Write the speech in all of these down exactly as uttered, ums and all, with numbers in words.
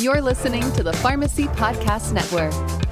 You're listening to the Pharmacy Podcast Network.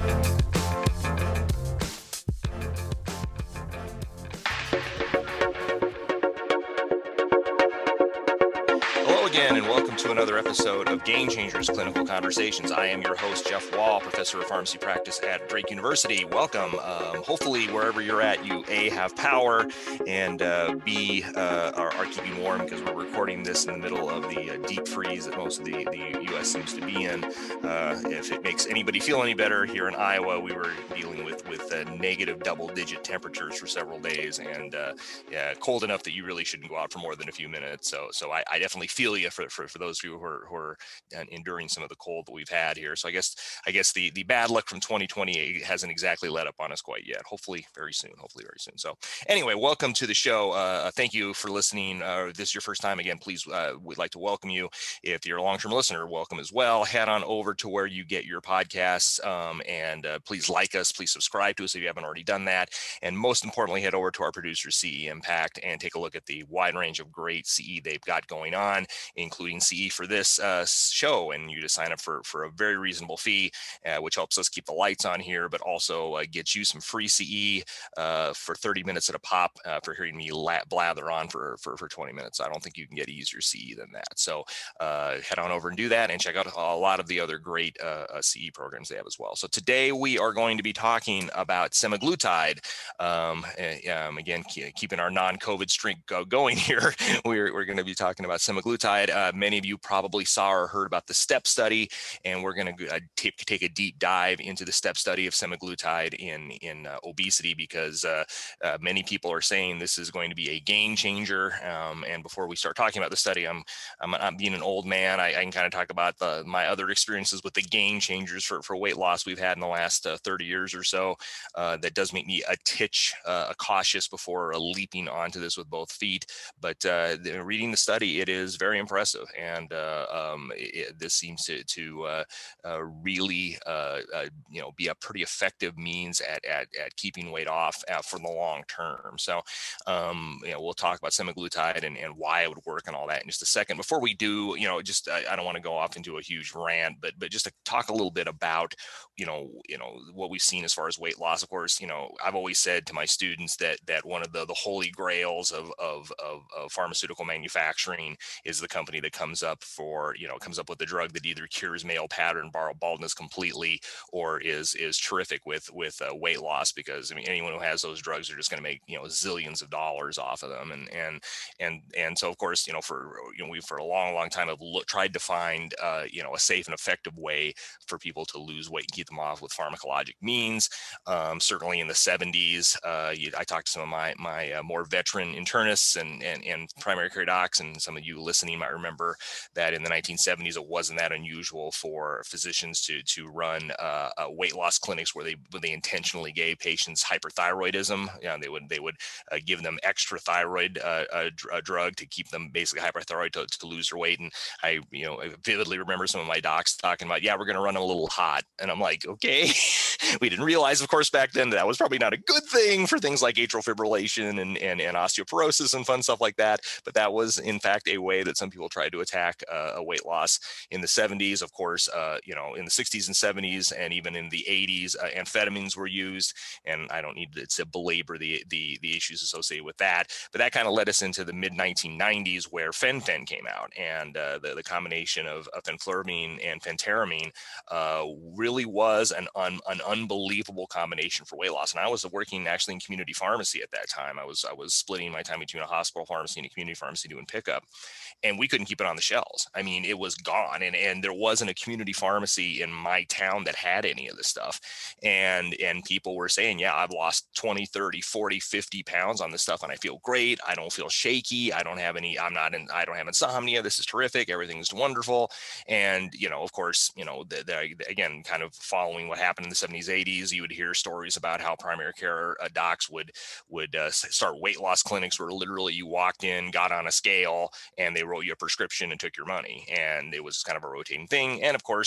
Hello again, and welcome to another episode of Game Changers Clinical Conversations. I am your host, Jeff Wall, professor of pharmacy practice at Drake University. Welcome. Um, hopefully, wherever you're at, you A, have power, and uh, B, uh, are, are keeping warm, because we're recording this in the middle of the uh, deep freeze that most of the, the U S seems to be in. Uh, if it makes anybody feel any better, here in Iowa, we were dealing with, with uh, negative double-digit temperatures for several days, and uh, yeah, cold enough that you really shouldn't go out for more than a few minutes. So, so I, I definitely feel you for, for, for those of you who are, who are enduring some of the cold that we've had here. So I guess I guess the, the bad luck from twenty twenty hasn't exactly let up on us quite yet. Hopefully very soon, hopefully very soon. So anyway, welcome to the show. Uh, thank you for listening. Uh, this is your first time again, please, uh, we'd like to welcome you. If you're a long-term listener, welcome as well. Head on over to where you get your podcasts, um, and uh, please like us, please subscribe to us if you haven't already done that. And most importantly, head over to our producer, C E Impact, and take a look at the wide range of great C E they've got going on, including C E for this uh, show. And you just sign up for, for a very reasonable fee, uh, which helps us keep the lights on here, but also uh, gets you some free C E uh, for thirty minutes at a pop uh, for hearing me la- blather on for, for, for twenty minutes. I don't think you can get easier C E than that. So uh, head on over and do that, and check out a lot of the other great uh, uh, C E programs they have as well. So today we are going to be talking about semaglutide. Um, um, again, keeping our non-COVID streak going here, we're, we're going to be talking about semaglutide. Uh, many of you probably saw or heard about the STEP study, and we're going to uh, take, take a deep dive into the STEP study of semaglutide in, in uh, obesity, because uh, uh, many people are saying this is going to be a game changer. Um, and before we start talking about the study, I'm, I'm, I'm being an old man. I, I can kind of talk about the, my other experiences with the game changers for, for weight loss we've had in the last uh, thirty years or so. Uh, that does make me a titch uh, cautious before uh, leaping onto this with both feet. But uh, the, reading the study, it is very impressive, and uh, um, it, this seems to, to uh, uh, really, uh, uh, you know, be a pretty effective means at at, at keeping weight off uh, for the long term. So, um, you know, we'll talk about semaglutide and, and why it would work and all that in just a second. Before we do, you know, just I, I don't want to go off into a huge rant, but but just to talk a little bit about, you know, you know what we've seen as far as weight loss. Of course, you know, I've always said to my students that that one of the the holy grails of of, of, of pharmaceutical manufacturing is the company that comes up for, you know, comes up with a drug that either cures male pattern baldness completely or is is terrific with with uh, weight loss. Because I mean, anyone who has those drugs are just going to make, you know, zillions of dollars off of them. And and and and so of course, you know, for you know, we for a long long time have look, tried to find uh, you know, a safe and effective way for people to lose weight and keep them off with pharmacologic means. Um, certainly in the seventies, uh, you, I talked to some of my my uh, more veteran internists and, and and primary care docs, and some of you listening might remember that in the nineteen seventies, it wasn't that unusual for physicians to to run uh, uh, weight loss clinics where they where they intentionally gave patients hyperthyroidism. You know, they would they would uh, give them extra thyroid uh, uh, dr- drug to keep them basically hyperthyroid to, to lose their weight. And I, you know, I vividly remember some of my docs talking about, yeah, we're going to run them a little hot, and I'm like, okay. We didn't realize, of course, back then that, that was probably not a good thing for things like atrial fibrillation and, and, and osteoporosis and fun stuff like that. But that was, in fact, a way that some people tried to attack uh, a weight loss. In the seventies, of course, uh, you know, in the sixties and seventies, and even in the eighties, uh, amphetamines were used. And I don't need to, to belabor the, the, the issues associated with that. But that kind of led us into the mid nineteen nineties, where fen-phen came out. And uh, the, the combination of, of fenfluramine and phentermine uh, really was an, un, an unbelievable combination for weight loss. And I was working actually in community pharmacy at that time. I was I was splitting my time between a hospital pharmacy and a community pharmacy doing pickup, and we couldn't keep it on the shelves. I mean, it was gone, and and there wasn't a community pharmacy in my town that had any of this stuff. And and people were saying, yeah, I've lost twenty, thirty, forty, fifty pounds on this stuff, and I feel great. I don't feel shaky. I don't have any. I'm not in. I don't have insomnia. This is terrific. Everything's wonderful. And you know, of course, you know, the, the, again, kind of following what happened in the seventies, eighties, you would hear stories about how primary care uh, docs would would uh, start weight loss clinics where literally you walked in, got on a scale, and they wrote you a prescription and took your money. And it was kind of a rotating thing. And of course,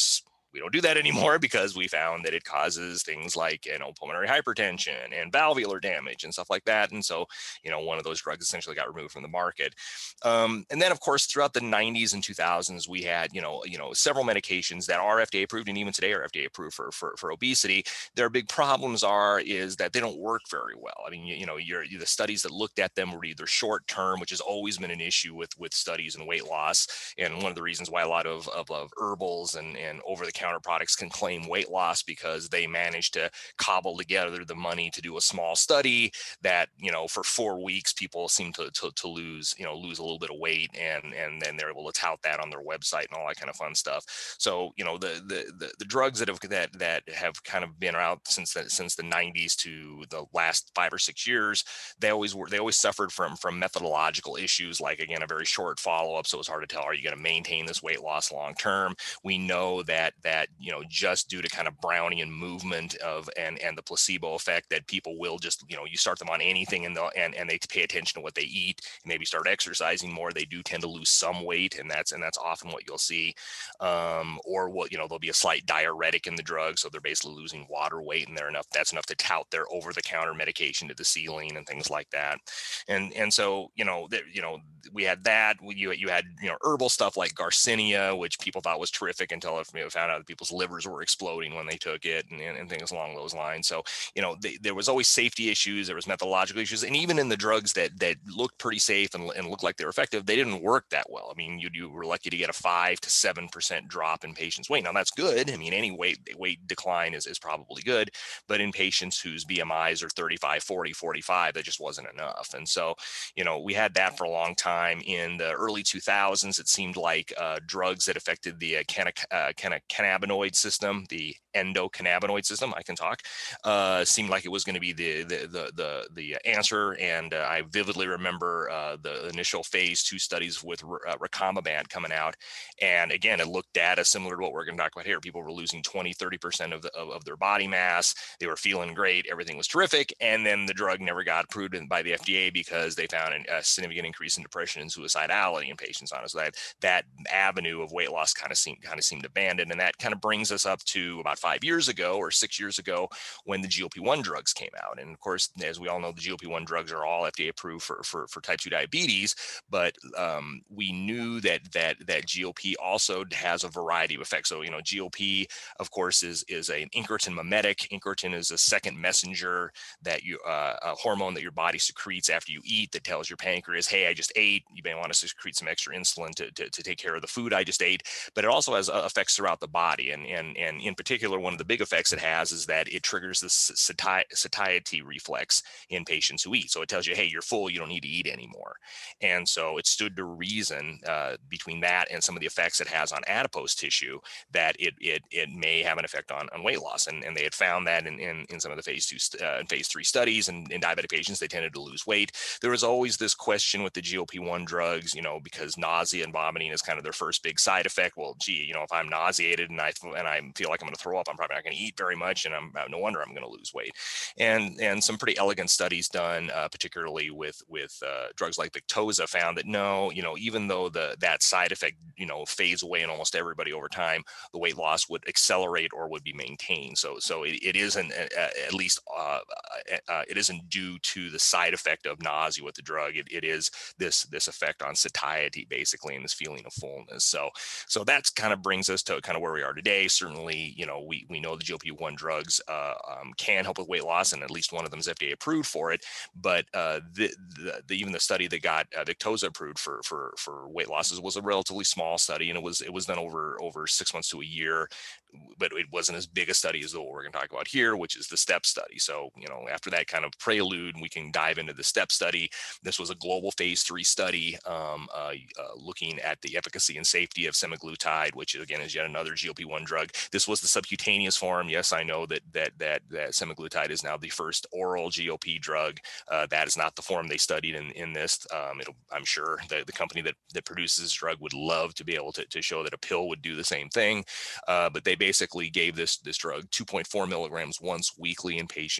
we don't do that anymore because we found that it causes things like, you know, pulmonary hypertension and valvular damage and stuff like that. And so, you know, one of those drugs essentially got removed from the market. Um, and then, of course, throughout the nineties and two thousands, we had, you know, you know, several medications that are F D A approved and even today are F D A approved for, for, for obesity. Their big problems are is that they don't work very well. I mean, you, you know, you're, the studies that looked at them were either short term, which has always been an issue with, with studies in weight loss. And one of the reasons why a lot of, of, of herbals and, and over-the-counter products can claim weight loss, because they manage to cobble together the money to do a small study that, you know, for four weeks, people seem to, to, to lose, you know, lose a little bit of weight, and, and then they're able to tout that on their website and all that kind of fun stuff. So, you know, the, the, the, the drugs that have, that, that have kind of been out since the, since the nineties to the last five or six years, they always were, they always suffered from, from methodological issues, like, again, a very short follow-up. So it's hard to tell, are you going to maintain this weight loss long term? We know that, that, you know, just due to kind of Brownian movement of, and, and the placebo effect, that people will just, you know, you start them on anything and, and, and they pay attention to what they eat, and maybe start exercising more, they do tend to lose some weight. And that's, and that's often what you'll see. Um, or what, you know, there'll be a slight diuretic in the drug. So they're basically losing water weight, and they're enough, that's enough to tout their over-the-counter medication to the ceiling and things like that. And, and so, you know, there, you know, we had that, you, you had, you know, herbal stuff like Garcinia, which people thought was terrific until it, you know, found out that people's livers were exploding when they took it, and, and, and things along those lines. So, you know, they, there was always safety issues, there was methodological issues, and even in the drugs that that looked pretty safe and, and looked like they were effective, they didn't work that well. I mean, you, you were lucky to get a five to seven percent drop in patients' weight. Now that's good. I mean, any weight weight decline is, is probably good, but in patients whose B M Is are thirty-five, forty, forty-five, that just wasn't enough. And so, you know, we had that for a long time. In the early two thousands, it seemed like uh, drugs that affected the uh, canna, uh, canna, cannabinoid system, the endocannabinoid system, I can talk, uh, seemed like it was going to be the, the, the, the, the answer. And uh, I vividly remember uh, the initial phase two studies with uh, Recombibant coming out. And again, it looked data similar to what we're going to talk about here. People were losing twenty, thirty percent of, the, of, of their body mass. They were feeling great. Everything was terrific. And then the drug never got approved by the F D A because they found an, a significant increase in depression and suicidality in patients on it. So that, that avenue of weight loss kind of seemed, kind of seemed abandoned. And that kind of brings us up to about five years ago or six years ago when the G L P one drugs came out. And of course, as we all know, the G L P one drugs are all F D A approved for, for, for type two diabetes, but um, we knew that, that, that G L P also has a variety of effects. So, you know, G L P, of course, is, is an incretin mimetic. Incretin is a second messenger that you, uh, a hormone that your body secretes after you eat that tells your pancreas, hey, I just ate. You may want to secrete some extra insulin to, to, to take care of the food I just ate. But it also has uh, effects throughout the body. And, and, and in particular, one of the big effects it has is that it triggers the sati- satiety reflex in patients who eat. So it tells you, hey, you're full, you don't need to eat anymore. And so it stood to reason uh, between that and some of the effects it has on adipose tissue that it it, it may have an effect on, on weight loss. And, and they had found that in, in, in some of the phase two uh, and phase three studies, and in diabetic patients, they tended to lose weight. There was always this question with the G L P one drugs, you know, because nausea and vomiting is kind of their first big side effect. Well, gee, you know, if I'm nauseated and I and I feel like I'm going to throw up, I'm probably not going to eat very much, and I'm no wonder I'm going to lose weight. And and some pretty elegant studies done, uh, particularly with with uh, drugs like Victoza, found that no, you know, even though the that side effect, you know, fades away in almost everybody over time, the weight loss would accelerate or would be maintained. So so it, it isn't uh, at least uh, uh, it isn't due to the side effect of nausea with the drug. It, it is this this effect on satiety basically, and this feeling of fullness. So so that's kind of brings us to kind of where we are today. Certainly, you know, we we know the G L P one drugs uh, um, can help with weight loss, and at least one of them is F D A approved for it. But uh, the, the, the even the study that got uh, Victoza approved for for for weight losses was a relatively small study, and it was it was done over over six months to a year. But it wasn't as big a study as the what we're going to talk about here, which is the STEP study. So, you know, after that kind of prelude, we can dive into the STEP study. This was a global phase three study um, uh, uh, looking at the efficacy and safety of semaglutide, which again is yet another G L P one drug. This was the subcutaneous form. Yes, I know that that that, that semaglutide is now the first oral G L P drug. Uh, that is not the form they studied in in this. Um, it'll, I'm sure the, the company that that produces this drug would love to be able to, to show that a pill would do the same thing, uh, but they basically gave this this drug two point four milligrams once weekly in patients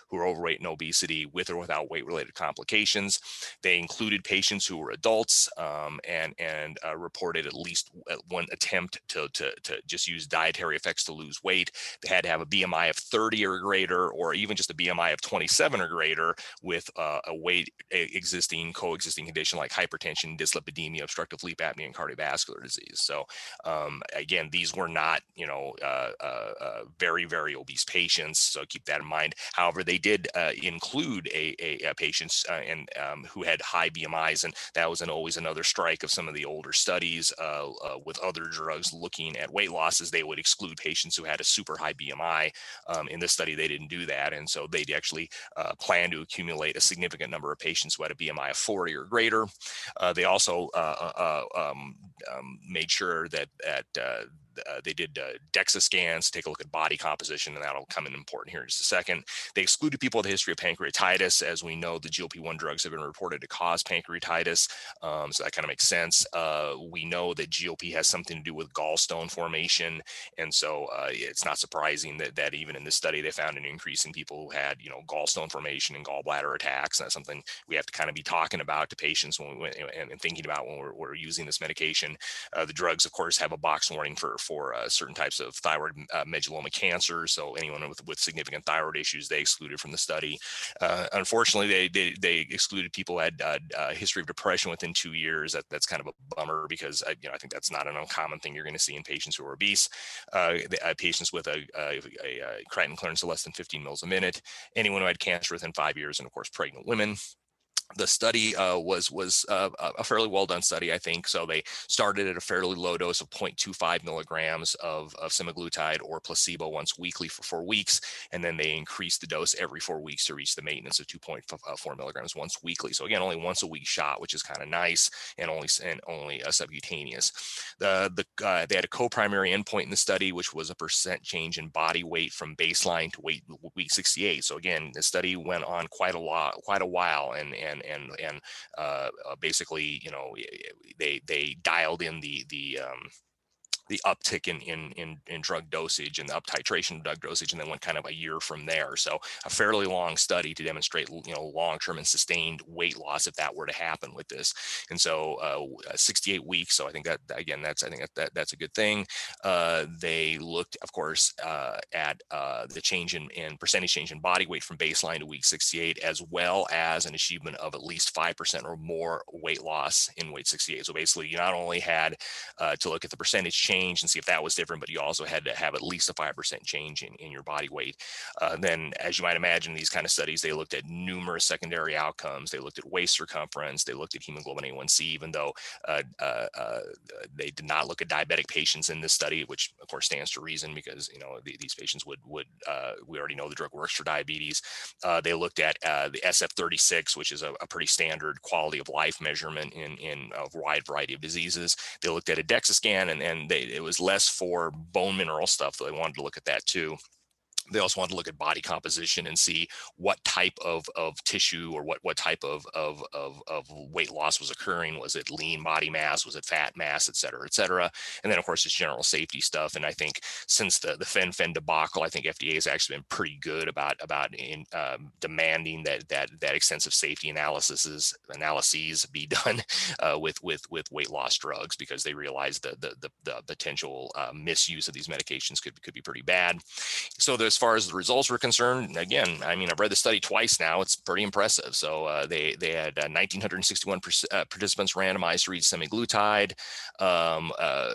who are overweight and obesity with or without weight-related complications. They included patients who were adults um, and and uh, reported at least one attempt to, to to just use dietary effects to lose weight. They had to have a B M I of thirty or greater, or even just a B M I of twenty-seven or greater, with uh, a weight a existing coexisting condition like hypertension, dyslipidemia, obstructive sleep apnea, and cardiovascular disease. So um, again, these were not, you know, uh, uh, uh, very, very obese patients. So keep that in mind. However, they did uh, include a, a, a patients uh, and um, who had high B M Is, and that was an, always another strike of some of the older studies uh, uh, with other drugs looking at weight losses. They would exclude patients who had a super high B M I. Um, in this study, they didn't do that, and so they actually uh, plan to accumulate a significant number of patients who had a B M I of forty or greater. Uh, they also uh, uh, um, um, made sure that that uh, Uh, they did uh, DEXA scans to take a look at body composition, and that'll come in important here in just a second. They excluded people with a history of pancreatitis. As we know, the G L P one drugs have been reported to cause pancreatitis, um, so that kind of makes sense. Uh, we know that G L P has something to do with gallstone formation, and so uh, it's not surprising that, that even in this study, they found an increase in people who had, you know, gallstone formation and gallbladder attacks. And that's something we have to kind of be talking about to patients when we, and, and thinking about when we're, we're using this medication. Uh, the drugs, of course, have a box warning for for uh, certain types of thyroid uh, medulloma cancer. So anyone with, with significant thyroid issues, they excluded from the study. Uh, unfortunately, they, they they excluded people who had uh, a history of depression within two years. That, that's kind of a bummer because I, you know, I think that's not an uncommon thing you're going to see in patients who are obese. Uh, the, uh, patients with a, a, a, a creatinine clearance of less than fifteen mils a minute, anyone who had cancer within five years, and of course, pregnant women. The study uh, was was uh, a fairly well done study, I think. So they started at a fairly low dose of zero point two five milligrams of, of semaglutide or placebo once weekly for four weeks, and then they increased the dose every four weeks to reach the maintenance of two point four milligrams once weekly. So again, only once a week shot, which is kind of nice, and only and only uh, subcutaneous. The the uh, they had a co-primary endpoint in the study, which was a percent change in body weight from baseline to weight week sixty-eight. So again, the study went on quite a lot, quite a while, and and and and uh, basically, you know, they they dialed in the the um, the uptick in, in in in drug dosage and the up titration of drug dosage, and then went kind of a year from there. So a fairly long study to demonstrate, you know, long-term and sustained weight loss if that were to happen with this. And so uh, sixty-eight weeks. So I think that again, that's I think that, that that's a good thing. Uh, they looked, of course, uh, at uh, the change in, in percentage change in body weight from baseline to week sixty-eight, as well as an achievement of at least five percent or more weight loss in week sixty-eight. So basically, you not only had uh, to look at the percentage change and see if that was different, but you also had to have at least a five percent change in, in your body weight. Uh, then, as you might imagine, these kind of studies, they looked at numerous secondary outcomes. They looked at waist circumference. They looked at hemoglobin A one C, even though uh, uh, uh, they did not look at diabetic patients in this study, which of course stands to reason because, you know, the, these patients would, would uh, we already know the drug works for diabetes. Uh, they looked at uh, the S F thirty-six, which is a, a pretty standard quality of life measurement in, in a wide variety of diseases. They looked at a DEXA scan, and, and they it was less for bone mineral stuff, though they wanted to look at that too. They also wanted to look at body composition and see what type of, of tissue or what, what type of, of, of, of weight loss was occurring. Was it lean body mass? Was it fat mass, et cetera, et cetera? And then, of course, it's general safety stuff. And I think since the, the fen-phen debacle, I think F D A has actually been pretty good about, about in, um, demanding that, that, that extensive safety analysis analyses be done uh, with, with, with weight loss drugs, because they realize the, the, the, the potential uh, misuse of these medications could, could be pretty bad. So there's as far as the results were concerned, again, I mean, I've read the study twice now. It's pretty impressive. So uh, they they had uh, one thousand nine hundred sixty-one uh, participants randomized to read semaglutide um, uh,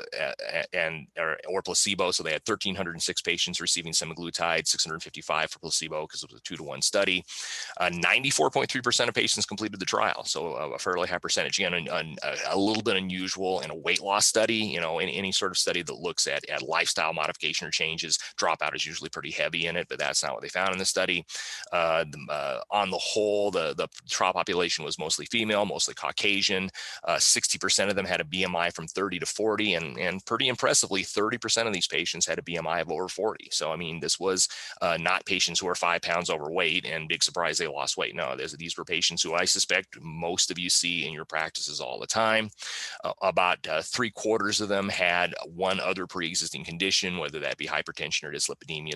and or, or placebo. So they had one thousand three hundred six patients receiving semaglutide, six hundred fifty-five for placebo because it was a two to one study. Uh, ninety-four point three percent of patients completed the trial. So uh, a fairly high percentage. Again, a, a little bit unusual in a weight loss study. You know, in any sort of study that looks at, at lifestyle modification or changes, dropout is usually pretty heavy in it, but that's not what they found in the study. Uh, the, uh, on the whole, the, the trial population was mostly female, mostly Caucasian. Uh, sixty percent of them had a B M I from thirty to forty, and, and pretty impressively, thirty percent of these patients had a B M I of over forty. So, I mean, this was uh, not patients who are five pounds overweight and big surprise they lost weight. No, these were patients who I suspect most of you see in your practices all the time. Uh, about uh, three quarters of them had one other pre-existing condition, whether that be hypertension or dyslipidemia. Some of the stuff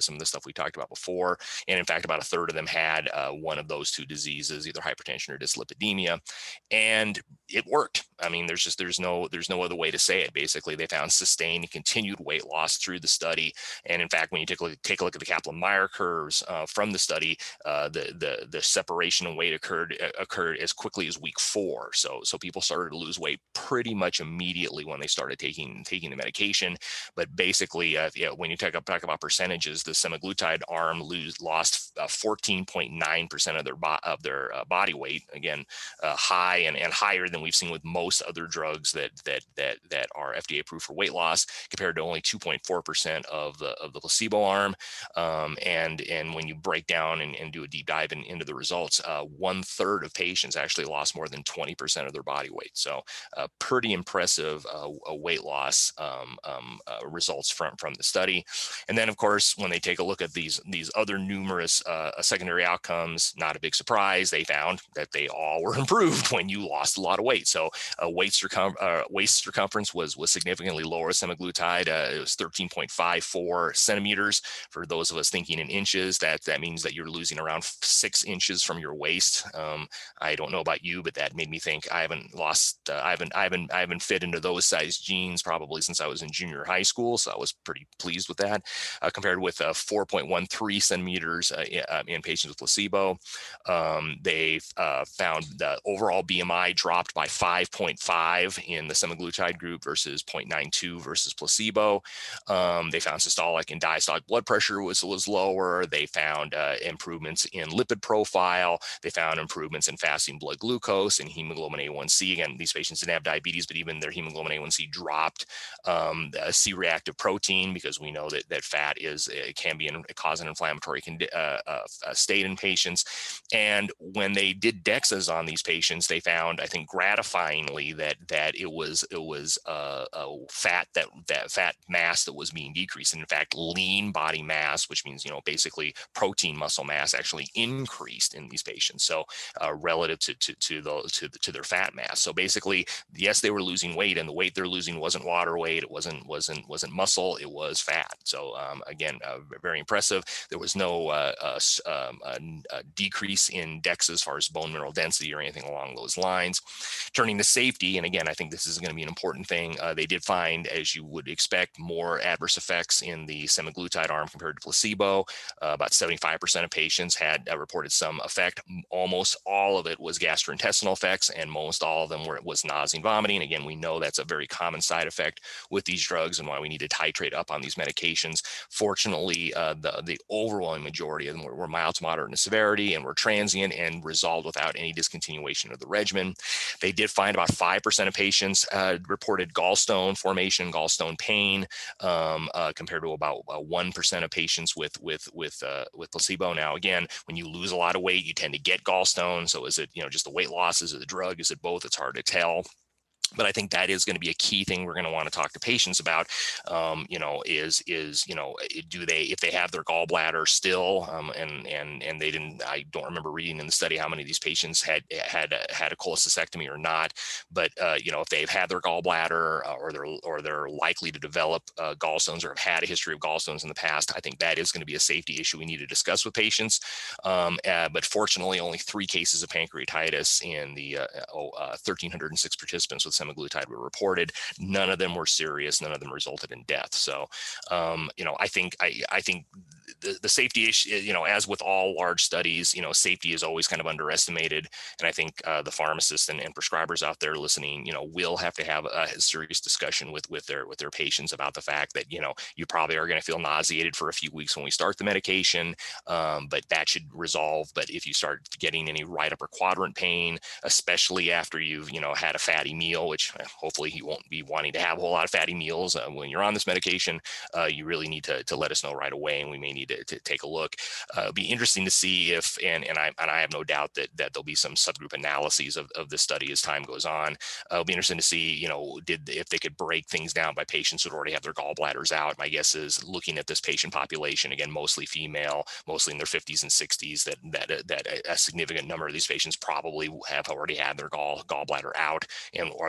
stuff we talked about before. And in fact, about a third of them had uh, one of those two diseases, either hypertension or dyslipidemia. And it worked. I mean, there's just, there's no, there's no other way to say it. Basically, they found sustained and continued weight loss through the study. And in fact, when you take a look, take a look at the Kaplan-Meier curves uh, from the study, uh, the, the, the separation in weight occurred, uh, occurred as quickly as week four. So, so people started to lose weight pretty much immediately when they started taking, taking the medication. But basically, uh, yeah, when you talk, talk about percentages, the semaglutide arm lose, lost uh, fourteen point nine percent of their, bo- of their uh, body weight. Again, uh, high and, and higher than we've seen with most other drugs that that that that are F D A approved for weight loss, compared to only two point four percent of the of the placebo arm. Um, and and when you break down and, and do a deep dive in, into the results, uh, one third of patients actually lost more than twenty percent of their body weight. So uh, pretty impressive uh, weight loss um, um, uh, results from from the study. And then, of course, when they take a look at these these other numerous uh, secondary outcomes, not a big surprise, they found that they all were improved when you lost a lot of weight. So uh, waist, circum- uh, waist circumference was was significantly lower with semaglutide. Uh, it was thirteen point five four centimeters. For those of us thinking in inches, that that means that you're losing around six inches from your waist. Um, I don't know about you, but that made me think I haven't lost, uh, I haven't, I haven't, I haven't fit into those size jeans probably since I was in junior high school. So I was pretty pleased with that. Uh, compared with uh, four point one three centimeters uh, in, uh, in patients with placebo. Um, they uh, found the overall B M I dropped by five point five in the semaglutide group versus zero point nine two versus placebo. Um, they found systolic and diastolic blood pressure was, was lower. They found uh, improvements in lipid profile. They found improvements in fasting blood glucose and hemoglobin A one C. Again, these patients didn't have diabetes, but even their hemoglobin A one C dropped. Um, the C-reactive protein, because we know that, that fat is it can be a cause an inflammatory uh, uh, state in patients. And when they did DEXAs on these patients, they found, I think, gratifyingly that that it was it was uh, a fat that that fat mass that was being decreased. And in fact, lean body mass, which means you know basically protein muscle mass, actually increased in these patients. So uh, relative to to to the to the, to their fat mass. So basically, yes, they were losing weight, and the weight they're losing wasn't water weight, it wasn't wasn't wasn't muscle, it was fat. So um, again, uh, very impressive. There was no uh, uh, um, a, a decrease in DEXA as far as bone mineral density or anything along those lines. Turning to safety, and again, I think this is going to be an important thing. Uh, they did find, as you would expect, more adverse effects in the semaglutide arm compared to placebo. Uh, about seventy-five percent of patients had uh, reported some effect. Almost all of it was gastrointestinal effects, and most all of them were was nausea and vomiting. Again, we know that's a very common side effect with these drugs and why we need to titrate up on these medications. Fortunately, uh, the, the overwhelming majority of them were, were mild to moderate in severity and were transient and resolved without any discontinuation of the regimen. They did find about five percent of patients uh, reported gallstone formation, gallstone pain, um, uh, compared to about uh, one percent of patients with with with uh, with placebo. Now, again, when you lose a lot of weight, you tend to get gallstone. So is it you know just the weight loss? Is it the drug? Is it both? It's hard to tell. But I think that is going to be a key thing we're going to want to talk to patients about. Um, you know, is is you know, do they if they have their gallbladder still, um, and and and they didn't. I don't remember reading in the study how many of these patients had had a, had a cholecystectomy or not. But uh, you know, if they've had their gallbladder uh, or they're or they're likely to develop uh, gallstones or have had a history of gallstones in the past, I think that is going to be a safety issue we need to discuss with patients. Um, uh, but fortunately, only three cases of pancreatitis in the uh, oh, uh, one thousand three hundred six participants with semaglutide were reported. None of them were serious. None of them resulted in death. So, um, you know, I think I, I think the, the safety issue, you know, as with all large studies, you know, safety is always kind of underestimated. And I think uh, the pharmacists and, and prescribers out there listening, you know, will have to have a serious discussion with with their with their patients about the fact that, you know, you probably are going to feel nauseated for a few weeks when we start the medication, um, but that should resolve. But if you start getting any right upper quadrant pain, especially after you've, you know, had a fatty meal, which hopefully you won't be wanting to have a whole lot of fatty meals uh, when you're on this medication, uh, you really need to, to let us know right away, and we may need to, to take a look. Uh, it'll be interesting to see if, and, and, I, and I have no doubt that, that there'll be some subgroup analyses of, of this study as time goes on. Uh, it'll be interesting to see, you know, did if they could break things down by patients who already have their gallbladders out. My guess is looking at this patient population, again, mostly female, mostly in their fifties and sixties, that that that a significant number of these patients probably have already had their gall gallbladder out, and or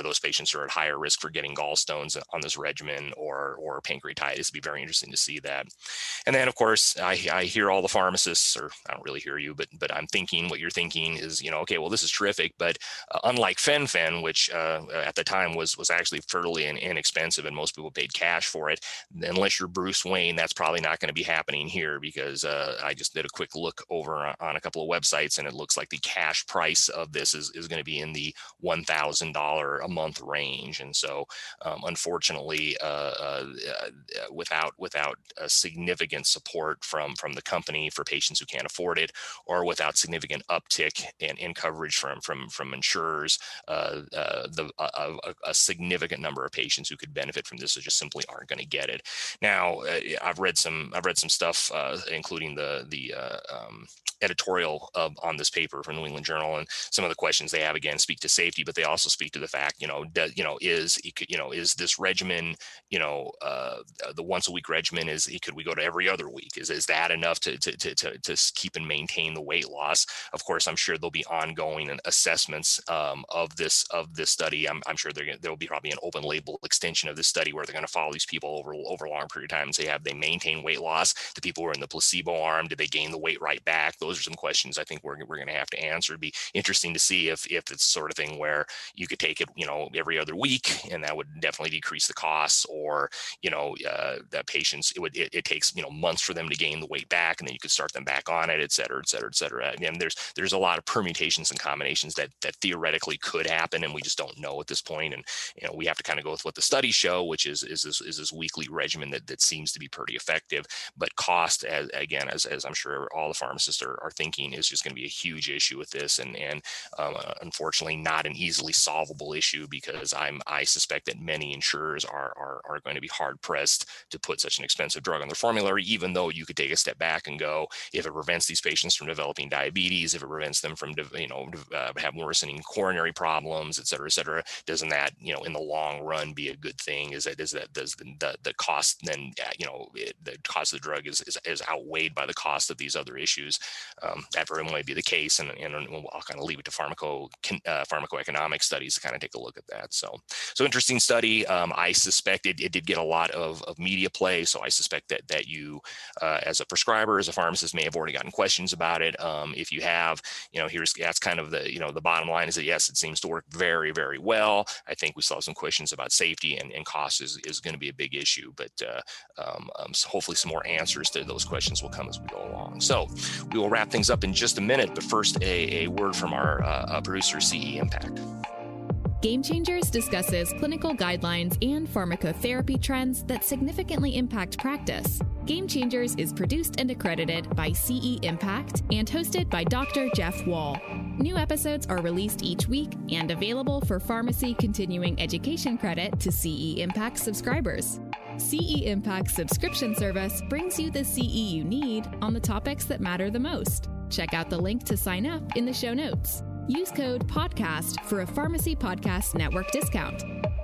those patients are at higher risk for getting gallstones on this regimen or or pancreatitis. It'd be very interesting to see that. And then, of course, I, I hear all the pharmacists, or I don't really hear you, but but I'm thinking what you're thinking is, you know, okay, well, this is terrific, but uh, unlike Fen-Phen, which uh, at the time was was actually fairly in, inexpensive and most people paid cash for it, unless you're Bruce Wayne, that's probably not going to be happening here, because uh, I just did a quick look over on, on a couple of websites, and it looks like the cash price of this is, is going to be in the one thousand dollars a month range. And so, um, unfortunately, uh, uh, without without a significant support from from the company for patients who can't afford it, or without significant uptick in, in coverage from from from insurers, uh, uh, the uh, a, a significant number of patients who could benefit from this just simply aren't going to get it. Now, uh, I've read some I've read some stuff, uh, including the the uh, um, editorial uh, on this paper from New England Journal, and some of the questions they have again speak to safety, but they also speak to the fact, you know, do, you know, is you know, is this regimen, you know, uh, the once a week regimen, is could we go to every other week? Is is that enough to to to to, to keep and maintain the weight loss? Of course, I'm sure there'll be ongoing assessments um, of this of this study. I'm, I'm sure there there'll be probably an open label extension of this study where they're going to follow these people over over a long period of time and say, have they maintained weight loss? The people who are in the placebo arm, did they gain the weight right back? Those are some questions I think we're we're going to have to answer. It'd be interesting to see if if it's sort of thing where you could take it, you know, every other week, and that would definitely decrease the costs, or you know, uh, that patients it would it, it takes you know months for them to gain the weight back, and then you could start them back on it, et cetera, et cetera, et cetera. And there's there's a lot of permutations and combinations that that theoretically could happen, and we just don't know at this point. And you know, we have to kind of go with what the studies show, which is is this is this weekly regimen that that seems to be pretty effective. But cost, as again, as as I'm sure all the pharmacists are, are thinking, is just going to be a huge issue with this, and and um, unfortunately not an easily solvable issue, because I'm I suspect that many insurers are are are going to be hard pressed to put such an expensive drug on their formulary, even though you could take a step back and go, if it prevents these patients from developing diabetes, if it prevents them from you know uh, having worsening coronary problems, et cetera, et cetera, doesn't that you know in the long run be a good thing? Is that is that does the the, the cost then uh, you know it, the cost of the drug is, is is outweighed by the cost of these other issues? Um, that very might be the case, and, and I'll kind of leave it to pharmaco uh, pharmacoeconomic studies to kind of take a look at that. So so interesting study. Um, I suspect it, it did get a lot of, of media play, so I suspect that that you uh, as a prescriber, as a pharmacist, may have already gotten questions about it. Um, if you have, you know, here's that's kind of the you know the bottom line is that yes, it seems to work very very well. I think we still have some questions about safety, and, and cost is, is going to be a big issue, but uh, um, um, so hopefully some more answers to those questions will come as we go along. So we will wrap things up in just a minute, but first a, a word from our uh, producer, C E Impact. Game Changers discusses clinical guidelines and pharmacotherapy trends that significantly impact practice. Game Changers is produced and accredited by C E Impact and hosted by Doctor Jeff Wall. New episodes are released each week and available for pharmacy continuing education credit to C E Impact subscribers. C E Impact's subscription service brings you the C E you need on the topics that matter the most. Check out the link to sign up in the show notes. Use code PODCAST for a Pharmacy Podcast Network discount.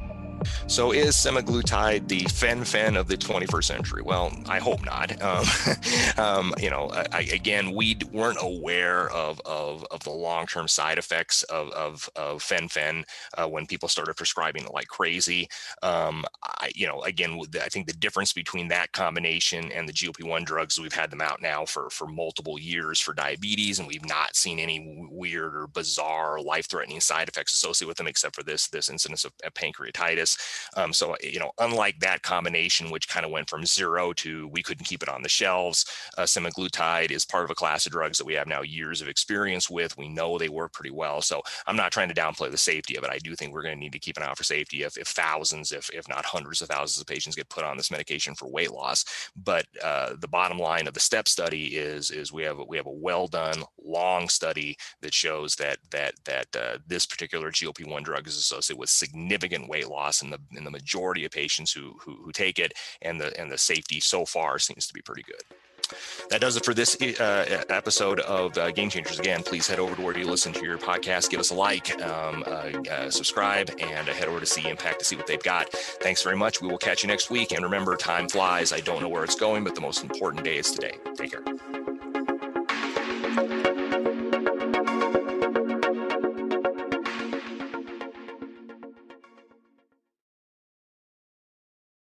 So is semaglutide the fen-phen of the twenty-first century? Well, I hope not. Um, um, you know, I, again, we weren't aware of, of, of the long-term side effects of, of, of fen-phen uh, when people started prescribing it like crazy. Um, I, you know, again, I think the difference between that combination and the G L P one drugs, we've had them out now for, for multiple years for diabetes, and we've not seen any weird or bizarre life-threatening side effects associated with them, except for this, this incidence of, of pancreatitis. Um, so, you know, unlike that combination, which kind of went from zero to we couldn't keep it on the shelves, uh, semaglutide is part of a class of drugs that we have now years of experience with. We know they work pretty well. So I'm not trying to downplay the safety of it. I do think we're going to need to keep an eye out for safety if, if thousands, if, if not hundreds of thousands of patients get put on this medication for weight loss. But uh, the bottom line of the STEP study is, is we have, we have a well done, long study that shows that, that, that uh, this particular G L P one drug is associated with significant weight loss in the in the majority of patients who, who who take it, and the and the safety so far seems to be pretty good. That does it for this uh, episode of uh, Game Changers. Again, please head over to where you listen to your podcast, give us a like, um, uh, uh, subscribe, and uh, head over to C E Impact to see what they've got. Thanks very much. We will catch you next week. And remember, time flies. I don't know where it's going, but the most important day is today. Take care.